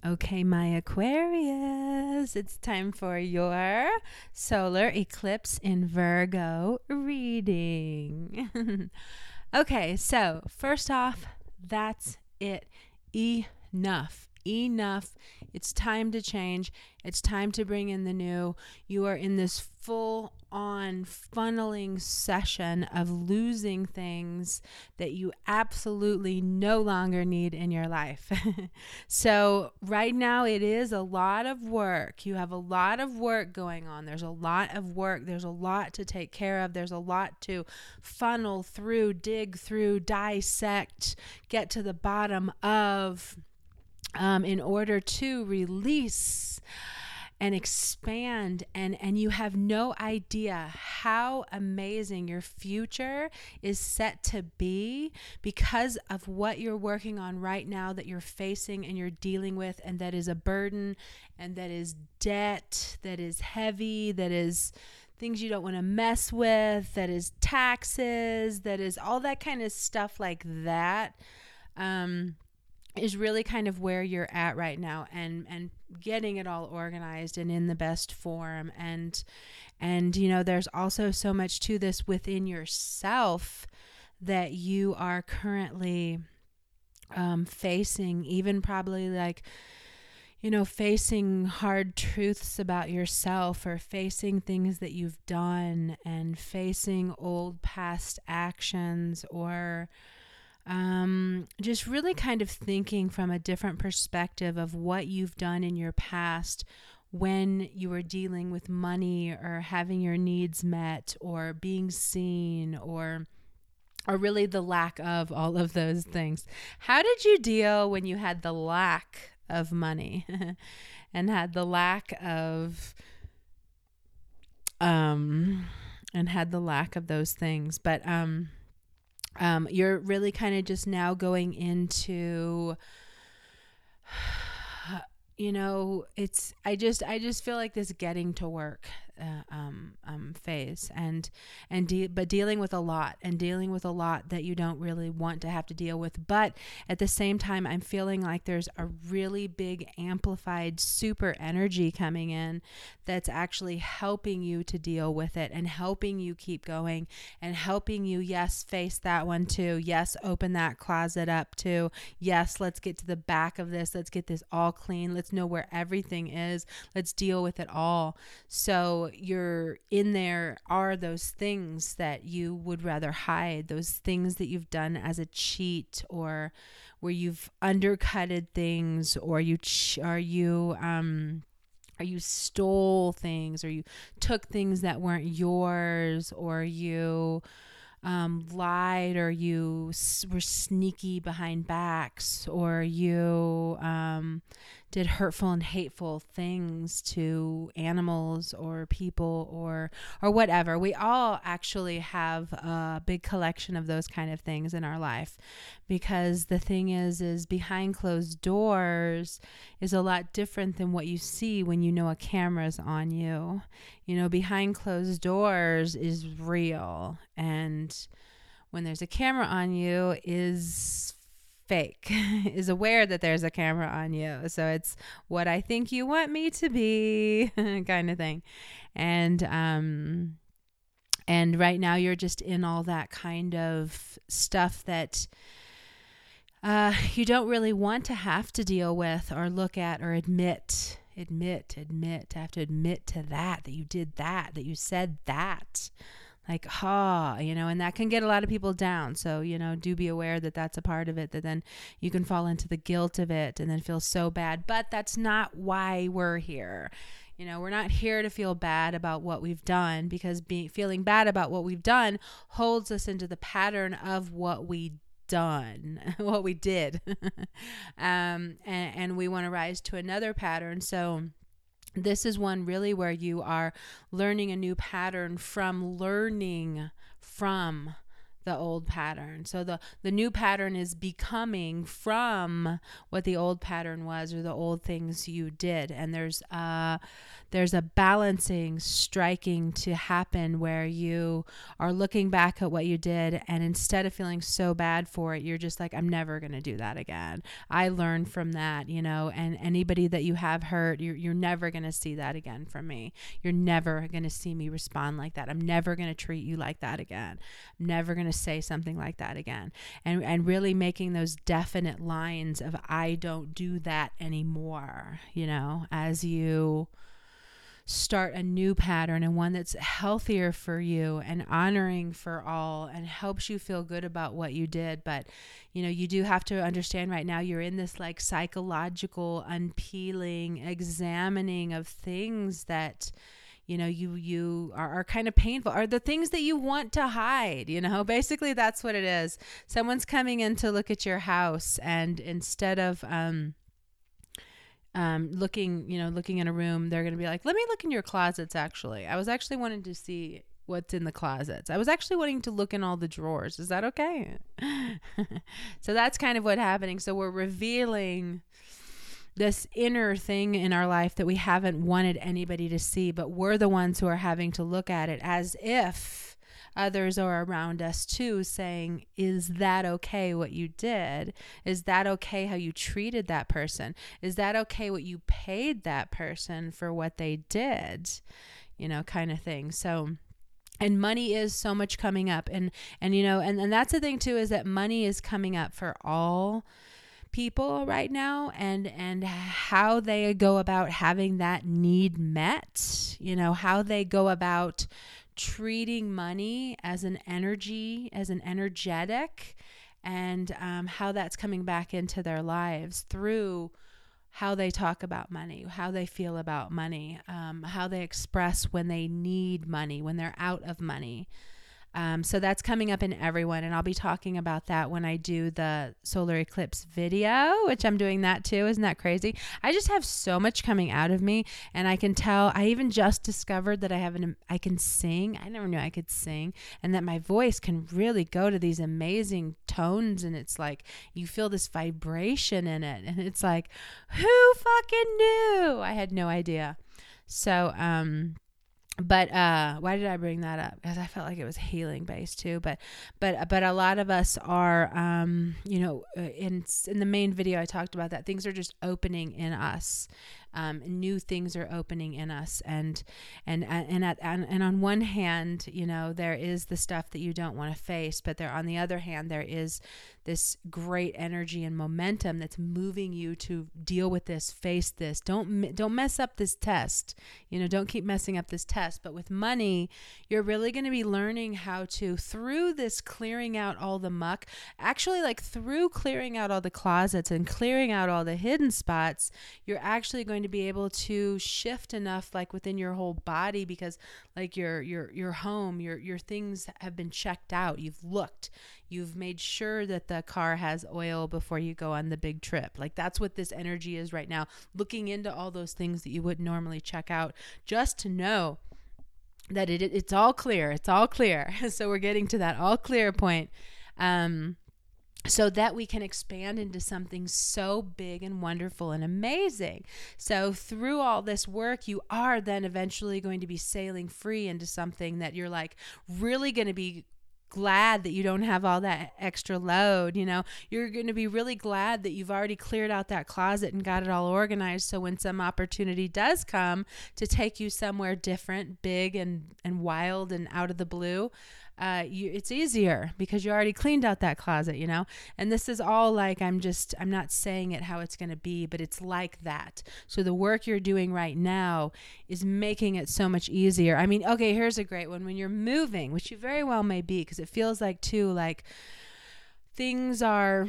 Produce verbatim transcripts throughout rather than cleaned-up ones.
Okay, my Aquarius, it's time for your solar eclipse in Virgo reading. Okay, so first off, that's it. Enough. Enough. It's time to change. It's time to bring in the new. You are in this full on funneling session of losing things that you absolutely no longer need in your life. So right now it is a lot of work. You have a lot of work going on. There's a lot of work. There's a lot to take care of. There's a lot to funnel through, dig through, dissect, get to the bottom of. Um, in order to release and expand, and, and you have no idea how amazing your future is set to be because of what you're working on right now that you're facing and you're dealing with, and that is a burden, and that is debt, that is heavy, that is things you don't want to mess with, that is taxes, that is all that kind of stuff like that. Um, is really kind of where you're at right now, and and getting it all organized and in the best form, and and you know there's also so much to this within yourself that you are currently um, facing, even probably like you know facing hard truths about yourself, or facing things that you've done, and facing old past actions, or Um, just really kind of thinking from a different perspective of what you've done in your past when you were dealing with money, or having your needs met, or being seen, or or really the lack of all of those things. How did you deal when you had the lack of money and had the lack of um and had the lack of those things? But um Um, you're really kind of just now going into, you know, it's, I just, I just feel like this getting to work, uh, um, um, phase, and, and, de- but dealing with a lot, and dealing with a lot that you don't really want to have to deal with. But at the same time, I'm feeling like there's a really big amplified super energy coming in that's actually helping you to deal with it, and helping you keep going, and helping you, yes, face that one too. Yes, open that closet up too. Yes, let's get to the back of this. Let's get this all clean. Let's know where everything is. Let's deal with it all. So you're in there are those things that you would rather hide, those things that you've done as a cheat, or where you've undercutted things, or you, ch- or you, um, or you stole things, or you took things that weren't yours, or you um, lied, or you s- were sneaky behind backs, or you um, did hurtful and hateful things to animals or people, or or whatever. We all actually have a big collection of those kind of things in our life, because the thing is, is behind closed doors is a lot different than what you see when you know a camera's on you. You know, behind closed doors is real, and when there's a camera on you is fake, is aware that there's a camera on you. So it's what I think you want me to be kind of thing. And, um, and right now you're just in all that kind of stuff that uh, you don't really want to have to deal with, or look at, or admit, admit, admit, to have to admit to that, that you did that, that you said that. Like, ha, oh, you know, and that can get a lot of people down. So, you know, do be aware that that's a part of it, that then you can fall into the guilt of it and then feel so bad. But that's not why we're here. You know, we're not here to feel bad about what we've done, because being feeling bad about what we've done holds us into the pattern of what we done, what we did. um, and, and we want to rise to another pattern. So this is one really where you are learning a new pattern from learning from the old pattern. So the, the new pattern is becoming from what the old pattern was, or the old things you did. And there's uh there's a balancing striking to happen where you are looking back at what you did, and instead of feeling so bad for it, you're just like, I'm never going to do that again. I learned from that, you know, and anybody that you have hurt, you're, you're never going to see that again from me. You're never going to see me respond like that. I'm never going to treat you like that again. I'm never going to say something like that again. And, and really making those definite lines of, I don't do that anymore, you know, as you start a new pattern, and one that's healthier for you and honoring for all and helps you feel good about what you did. But, you know, you do have to understand right now you're in this like psychological unpeeling, examining of things that, you know, you, you are, are kind of painful, are the things that you want to hide, you know, basically that's what it is. Someone's coming in to look at your house, and instead of, um, Um, looking, you know, looking in a room, they're going to be like, let me look in your closets. Actually, I was actually wanting to see what's in the closets. I was actually wanting to look in all the drawers. Is that okay? So that's kind of what's happening. So we're revealing this inner thing in our life that we haven't wanted anybody to see, but we're the ones who are having to look at it as if others are around us too, saying, is that okay what you did? Is that okay how you treated that person? Is that okay what you paid that person for what they did? You know, kind of thing. So, and money is so much coming up. And, and you know, and, and that's the thing too, is that money is coming up for all people right now, and and how they go about having that need met, you know, how they go about treating money as an energy, as an energetic, and um, how that's coming back into their lives through how they talk about money, how they feel about money, um, how they express when they need money, when they're out of money. Um, so that's coming up in everyone, and I'll be talking about that when I do the solar eclipse video, which I'm doing that too. Isn't that crazy? I just have so much coming out of me, and I can tell. I even just discovered that I have an I can sing. I never knew I could sing, and that my voice can really go to these amazing tones, and it's like you feel this vibration in it, and it's like, who fucking knew? I had no idea. So, um. But uh, why did I bring that up? Because I felt like it was healing based too. But but but a lot of us are, um, you know, in in the main video I talked about that things are just opening in us. Um, new things are opening in us, and and and at and, and on one hand, you know, there is the stuff that you don't want to face, but there on the other hand, there is this great energy and momentum that's moving you to deal with this, face this. Don't don't mess up this test. You know, don't keep messing up this test. But with money, you're really going to be learning how to, through this clearing out all the muck, actually like through clearing out all the closets and clearing out all the hidden spots, you're actually going to be able to shift enough like within your whole body, because like your your your home, your your things have been checked out. You've looked. You've made sure that the car has oil before you go on the big trip. Like that's what this energy is right now, looking into all those things that you would normally check out, just to know that it it's all clear. It's all clear. So we're getting to that all clear point. Um, so that we can expand into something so big and wonderful and amazing. So through all this work, you are then eventually going to be sailing free into something that you're like really going to be glad that you don't have all that extra load. You know, you're going to be really glad that you've already cleared out that closet and got it all organized. So when some opportunity does come to take you somewhere different, big and, and wild and out of the blue, uh, you, it's easier because you already cleaned out that closet, you know? And this is all like, I'm just, I'm not saying it how it's going to be, but it's like that. So the work you're doing right now is making it so much easier. I mean, okay, here's a great one. When you're moving, which you very well may be, because it feels like too, like things are,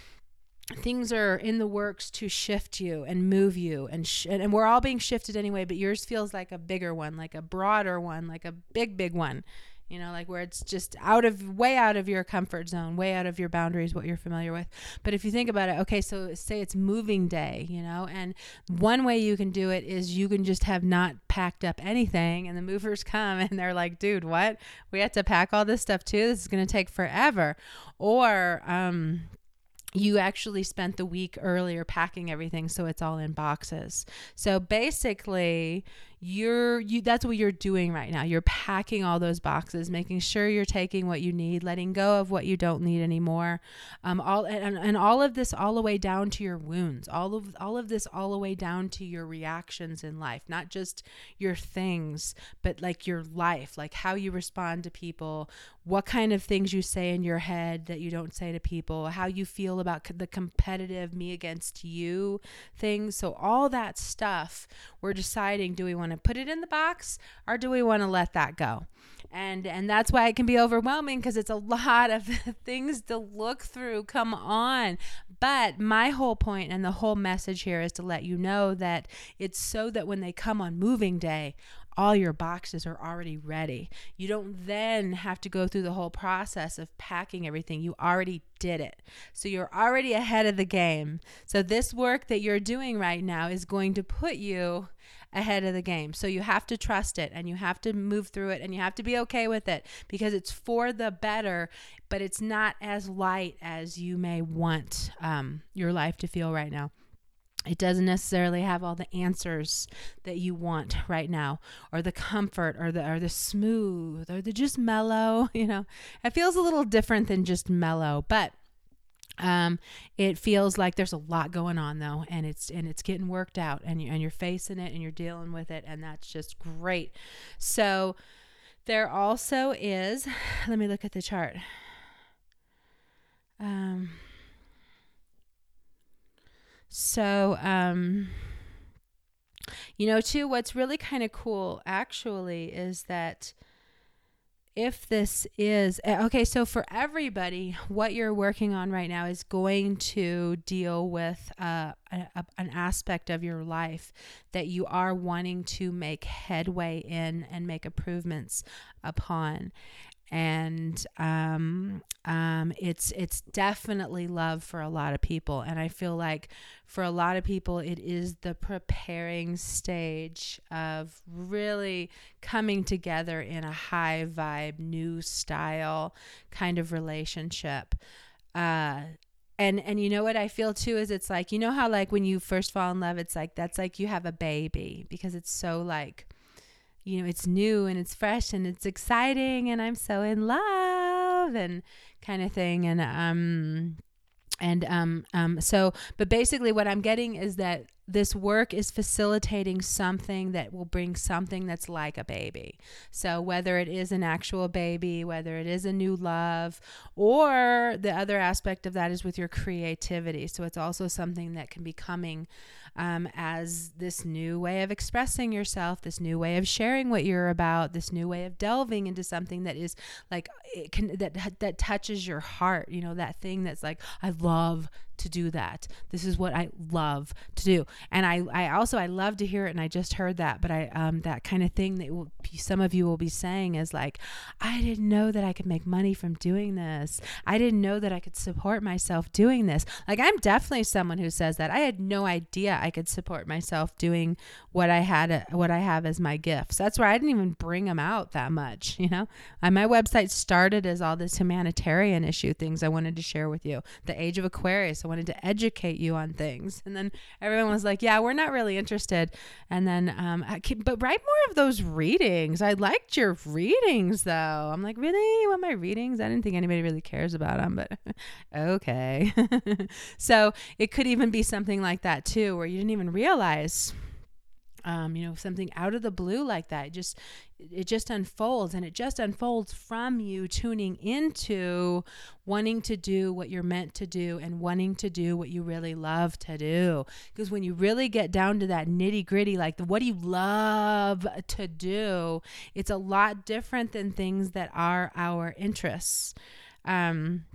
things are in the works to shift you and move you, and sh- and we're all being shifted anyway, but yours feels like a bigger one, like a broader one, like a big, big one. you know, like where it's just out of, way out of your comfort zone, way out of your boundaries, what you're familiar with. But if you think about it, okay, so say it's moving day, you know, and one way you can do it is you can just have not packed up anything, and the movers come and they're like, dude, what? We have to pack all this stuff too? This is going to take forever. Or, um, you actually spent the week earlier packing everything so it's all in boxes. So basically, you're you that's what you're doing right now. You're packing all those boxes, making sure you're taking what you need, letting go of what you don't need anymore. Um, all and, and all of this all the way down to your wounds. All of all of this all the way down to your reactions in life, not just your things, but like your life, like how you respond to people, what kind of things you say in your head that you don't say to people, how you feel about the competitive me against you things. So all that stuff, we're deciding, do we want to put it in the box or do we want to let that go? And and that's why it can be overwhelming, because it's a lot of things to look through. Come on. But my whole point and the whole message here is to let you know that it's so that when they come on moving day, all your boxes are already ready. You don't then have to go through the whole process of packing everything. You already did it. So you're already ahead of the game. So this work that you're doing right now is going to put you ahead of the game. So you have to trust it, and you have to move through it, and you have to be okay with it, because it's for the better, but it's not as light as you may want um, your life to feel right now. It doesn't necessarily have all the answers that you want right now, or the comfort, or the or the smooth, or the just mellow. You know, it feels a little different than just mellow, but um, it feels like there's a lot going on though, and it's and it's getting worked out, and you and you're facing it, and you're dealing with it, and that's just great. So there also is. Let me look at the chart. Um. So, um, you know, too, what's really kind of cool actually is that if this is, okay, so for everybody, what you're working on right now is going to deal with uh, a, a, an aspect of your life that you are wanting to make headway in and make improvements upon. And um, um, it's it's definitely love for a lot of people. And I feel like for a lot of people, it is the preparing stage of really coming together in a high vibe, new style kind of relationship. Uh, and and you know what I feel too is it's like, you know how like when you first fall in love, it's like that's like you have a baby, because it's so like, you know, it's new and it's fresh and it's exciting and I'm so in love and kind of thing. And, um, and, um, um, so, but basically what I'm getting is that this work is facilitating something that will bring something that's like a baby. So whether it is an actual baby, whether it is a new love, or the other aspect of that is with your creativity. So it's also something that can be coming Um, as this new way of expressing yourself, this new way of sharing what you're about, this new way of delving into something that is like, it can, that, that touches your heart, you know, that thing that's like, I love to do that. This is what I love to do. And I, I also, I love to hear it. And I just heard that, but I, um, that kind of thing that will be, some of you will be saying is like, I didn't know that I could make money from doing this. I didn't know that I could support myself doing this. Like, I'm definitely someone who says that. I had no idea I could support myself doing what I had, what I have as my gifts. That's why I didn't even bring them out that much, you know. And my website started as all this humanitarian issue things I wanted to share with you. The Age of Aquarius, I wanted to educate you on things. And then everyone was like, yeah, we're not really interested. And then, um, I keep, but write more of those readings. I liked your readings though. I'm like, really? You want my readings? I didn't think anybody really cares about them, but okay. So it could even be something like that too, where you didn't even realize, um, you know, something out of the blue like that. It just, it just unfolds, and it just unfolds from you tuning into wanting to do what you're meant to do and wanting to do what you really love to do. Because when you really get down to that nitty gritty, like the, what do you love to do? It's a lot different than things that are our interests. Um,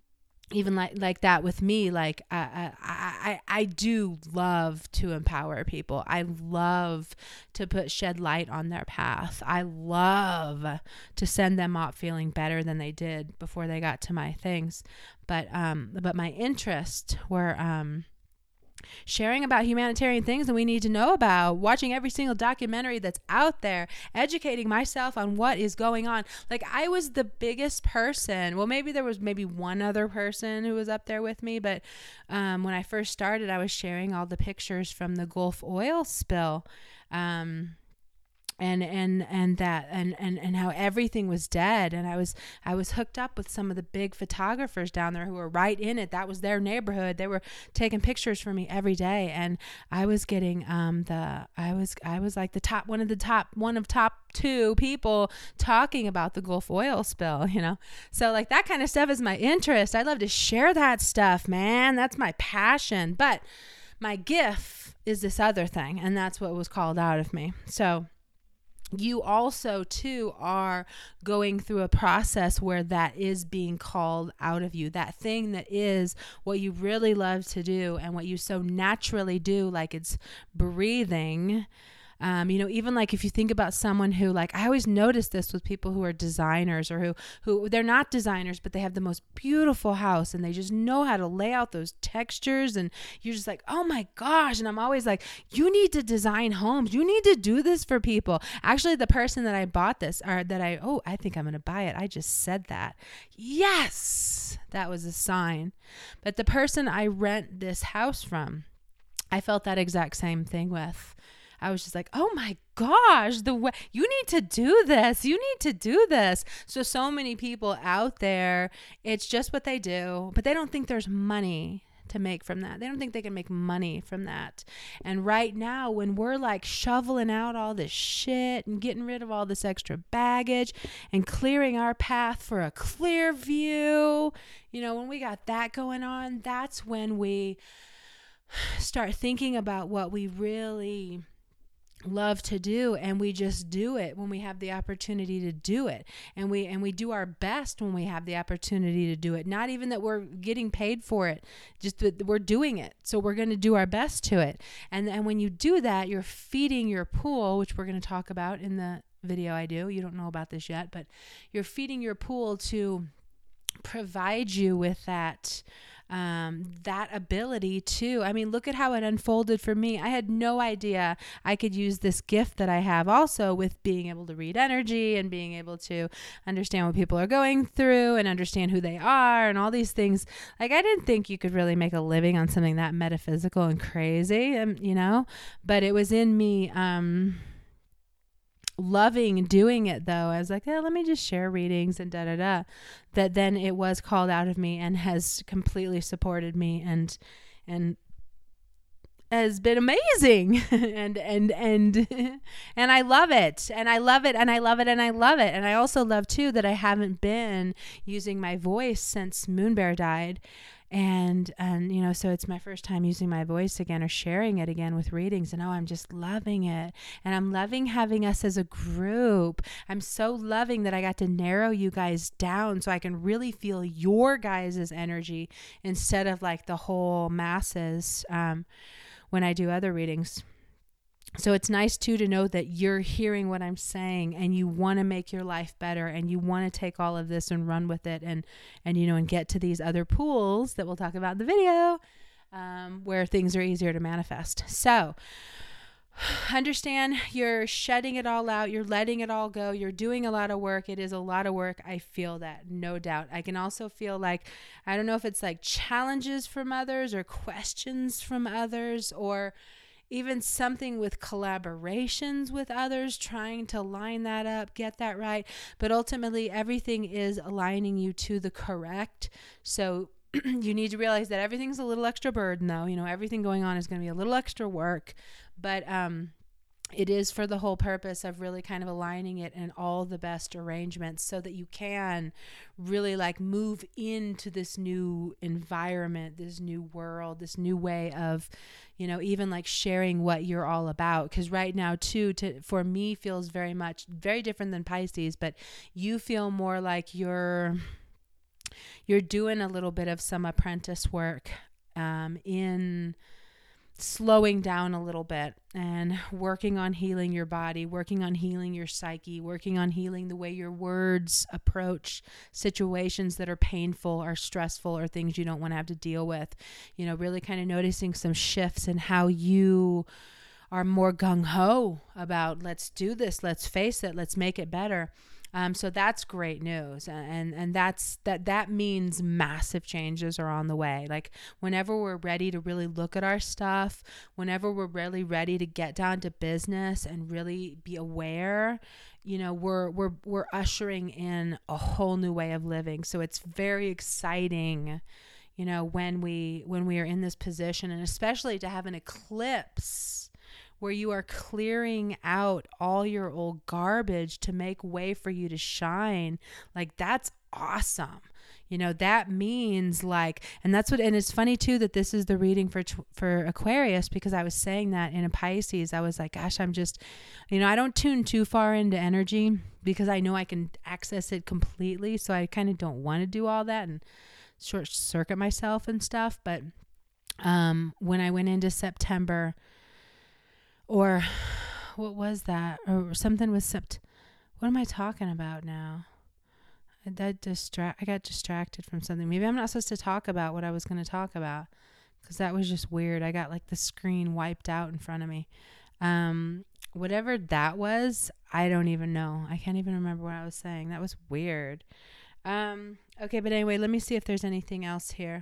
even like like that with me, like I, I I I do love to empower people. I love to put shed light on their path. I love to send them off feeling better than they did before they got to my things. But um but my interests were um sharing about humanitarian things that we need to know about, watching every single documentary that's out there, educating myself on what is going on. Like, I was the biggest person. Well, maybe there was maybe one other person who was up there with me, but um, when I first started, I was sharing all the pictures from the Gulf oil spill. Um, and and and that and, and and how everything was dead, and I was I was hooked up with some of the big photographers down there who were right in it. That was their neighborhood. They were taking pictures for me every day, and I was getting um the I was I was like the top one of the top one of top two people talking about the Gulf oil spill, you know. So like that kind of stuff is my interest. I love to share that stuff, man. That's my passion. But my gift is this other thing, and that's what was called out of me. So you also too are going through a process where that is being called out of you, that thing that is what you really love to do and what you so naturally do, like it's breathing. Um, you know, even like if you think about someone who, like, I always notice this with people who are designers or who, who they're not designers, but they have the most beautiful house and they just know how to lay out those textures. And you're just like, oh my gosh. And I'm always like, you need to design homes. You need to do this for people. Actually, the person that I bought this or that I, oh, I think I'm going to buy it. I just said that. Yes, that was a sign. But the person I rent this house from, I felt that exact same thing with. I was just like, oh my gosh, the way you need to do this, you need to do this. So, so many people out there, it's just what they do, but they don't think there's money to make from that. They don't think they can make money from that. And right now, when we're like shoveling out all this shit and getting rid of all this extra baggage and clearing our path for a clear view, you know, when we got that going on, that's when we start thinking about what we really love to do, and we just do it when we have the opportunity to do it, and we and we do our best when we have the opportunity to do it. Not even that we're getting paid for it, just that we're doing it, so we're going to do our best to it. And and when you do that, you're feeding your pool, which we're going to talk about in the video I do. You don't know about this yet, but you're feeding your pool to provide you with that um, that ability too. I mean, look at how it unfolded for me. I had no idea I could use this gift that I have also with being able to read energy and being able to understand what people are going through and understand who they are and all these things. Like, I didn't think you could really make a living on something that metaphysical and crazy, um, you know, but it was in me, um, loving doing it though. I was like, yeah, let me just share readings and da da da. That then it was called out of me and has completely supported me and and has been amazing. and and and and I love it. And I love it and I love it and I love it. And I also love too that I haven't been using my voice since Moonbear died. And, and, you know, so it's my first time using my voice again or sharing it again with readings. And oh, I'm just loving it. And I'm loving having us as a group. I'm so loving that I got to narrow you guys down so I can really feel your guys' energy instead of like the whole masses um, when I do other readings. So it's nice too to know that you're hearing what I'm saying and you want to make your life better and you want to take all of this and run with it and, and, you know, and get to these other pools that we'll talk about in the video, um, where things are easier to manifest. So understand you're shedding it all out. You're letting it all go. You're doing a lot of work. It is a lot of work. I feel that, no doubt. I can also feel like, I don't know if it's like challenges from others or questions from others or even something with collaborations with others, trying to line that up, get that right. But ultimately, everything is aligning you to the correct. So you need to realize that everything's a little extra burden, though. You know, everything going on is going to be a little extra work. But um, it is for the whole purpose of really kind of aligning it in all the best arrangements so that you can really like move into this new environment, this new world, this new way of, you know, even like sharing what you're all about. Because right now too, to, for me feels very much, very different than Pisces, but you feel more like you're you're doing a little bit of some apprentice work um, in slowing down a little bit and working on healing your body, working on healing your psyche, working on healing the way your words approach situations that are painful or stressful or things you don't want to have to deal with. You know, really kind of noticing some shifts in how you are more gung-ho about, let's do this, let's face it, let's make it better. Um, so that's great news. And, and that's, that, that means massive changes are on the way. Like whenever we're ready to really look at our stuff, whenever we're really ready to get down to business and really be aware, you know, we're, we're, we're ushering in a whole new way of living. So it's very exciting, you know, when we, when we are in this position, and especially to have an eclipse where you are clearing out all your old garbage to make way for you to shine. Like that's awesome. You know, that means like, and that's what, and it's funny too, that this is the reading for, for Aquarius, because I was saying that in a Pisces, I was like, gosh, I'm just, you know, I don't tune too far into energy because I know I can access it completely. So I kind of don't want to do all that and short circuit myself and stuff. But, um, when I went into September, or what was that? Or something with sept. What am I talking about now? I, that distract. I got distracted from something. Maybe I'm not supposed to talk about what I was going to talk about, because that was just weird. I got like the screen wiped out in front of me. Um, whatever that was, I don't even know. I can't even remember what I was saying. That was weird. Um, okay, but anyway, let me see if there's anything else here.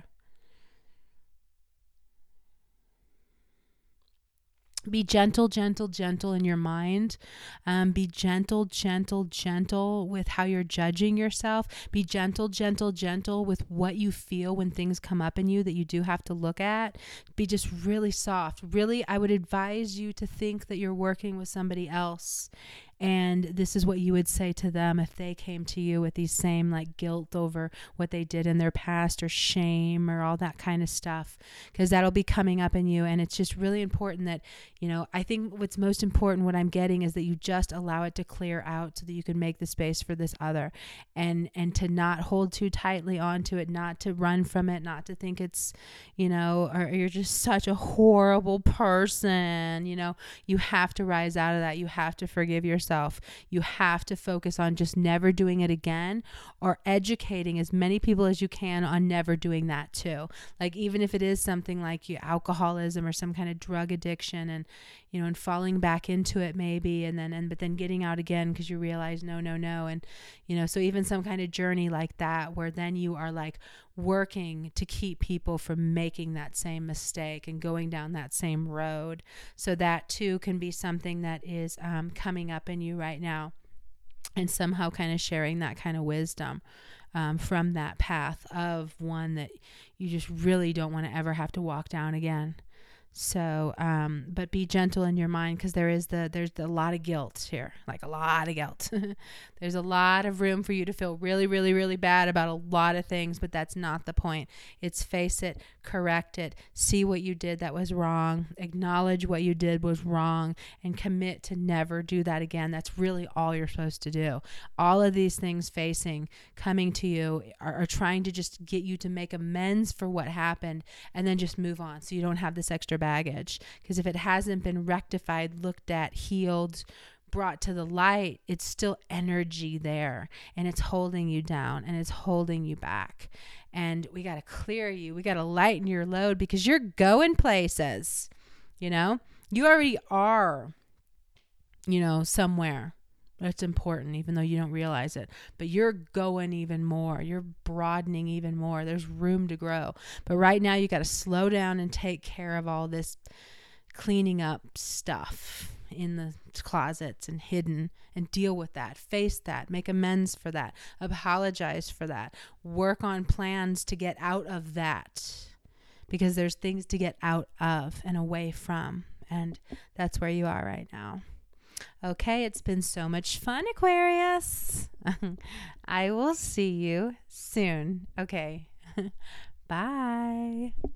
Be gentle, gentle, gentle in your mind. Um, be gentle, gentle, gentle with how you're judging yourself. Be gentle, gentle, gentle with what you feel when things come up in you that you do have to look at. Be just really soft. Really, I would advise you to think that you're working with somebody else. And this is what you would say to them if they came to you with these same like guilt over what they did in their past, or shame, or all that kind of stuff, because that'll be coming up in you. And it's just really important that, you know, I think what's most important, what I'm getting, is that you just allow it to clear out so that you can make the space for this other, and, and to not hold too tightly onto it, not to run from it, not to think it's, you know, or you're just such a horrible person. You know, you have to rise out of that. You have to forgive yourself. You have to focus on just never doing it again, or educating as many people as you can on never doing that too. Like even if it is something like you alcoholism or some kind of drug addiction, and you know, and falling back into it maybe, and then and but then getting out again because you realize no, no, no, and you know, so even some kind of journey like that, where then you are like working to keep people from making that same mistake and going down that same road. So that too can be something that is um, coming up in you right now, and somehow kind of sharing that kind of wisdom um, from that path of one that you just really don't want to ever have to walk down again. So, um, but be gentle in your mind, because there is the, there's a lot of guilt here, like a lot of guilt. There's a lot of room for you to feel really, really, really bad about a lot of things, but that's not the point. It's face it, correct it, see what you did that was wrong, acknowledge what you did was wrong, and commit to never do that again. That's really all you're supposed to do. All of these things facing, coming to you are, are trying to just get you to make amends for what happened, and then just move on so you don't have this extra baggage. Because if it hasn't been rectified, looked at, healed, brought to the light, it's still energy there, and it's holding you down, and it's holding you back. And we got to clear you. We got to lighten your load, because you're going places. You know, you already are, you know, somewhere. That's important, even though you don't realize it. But you're going even more. You're broadening even more. There's room to grow. But right now, you got to slow down and take care of all this cleaning up stuff in the closets and hidden, and deal with that. Face that. Make amends for that. Apologize for that. Work on plans to get out of that, because there's things to get out of and away from. And that's where you are right now. Okay, it's been so much fun, Aquarius. I will see you soon. Okay, bye.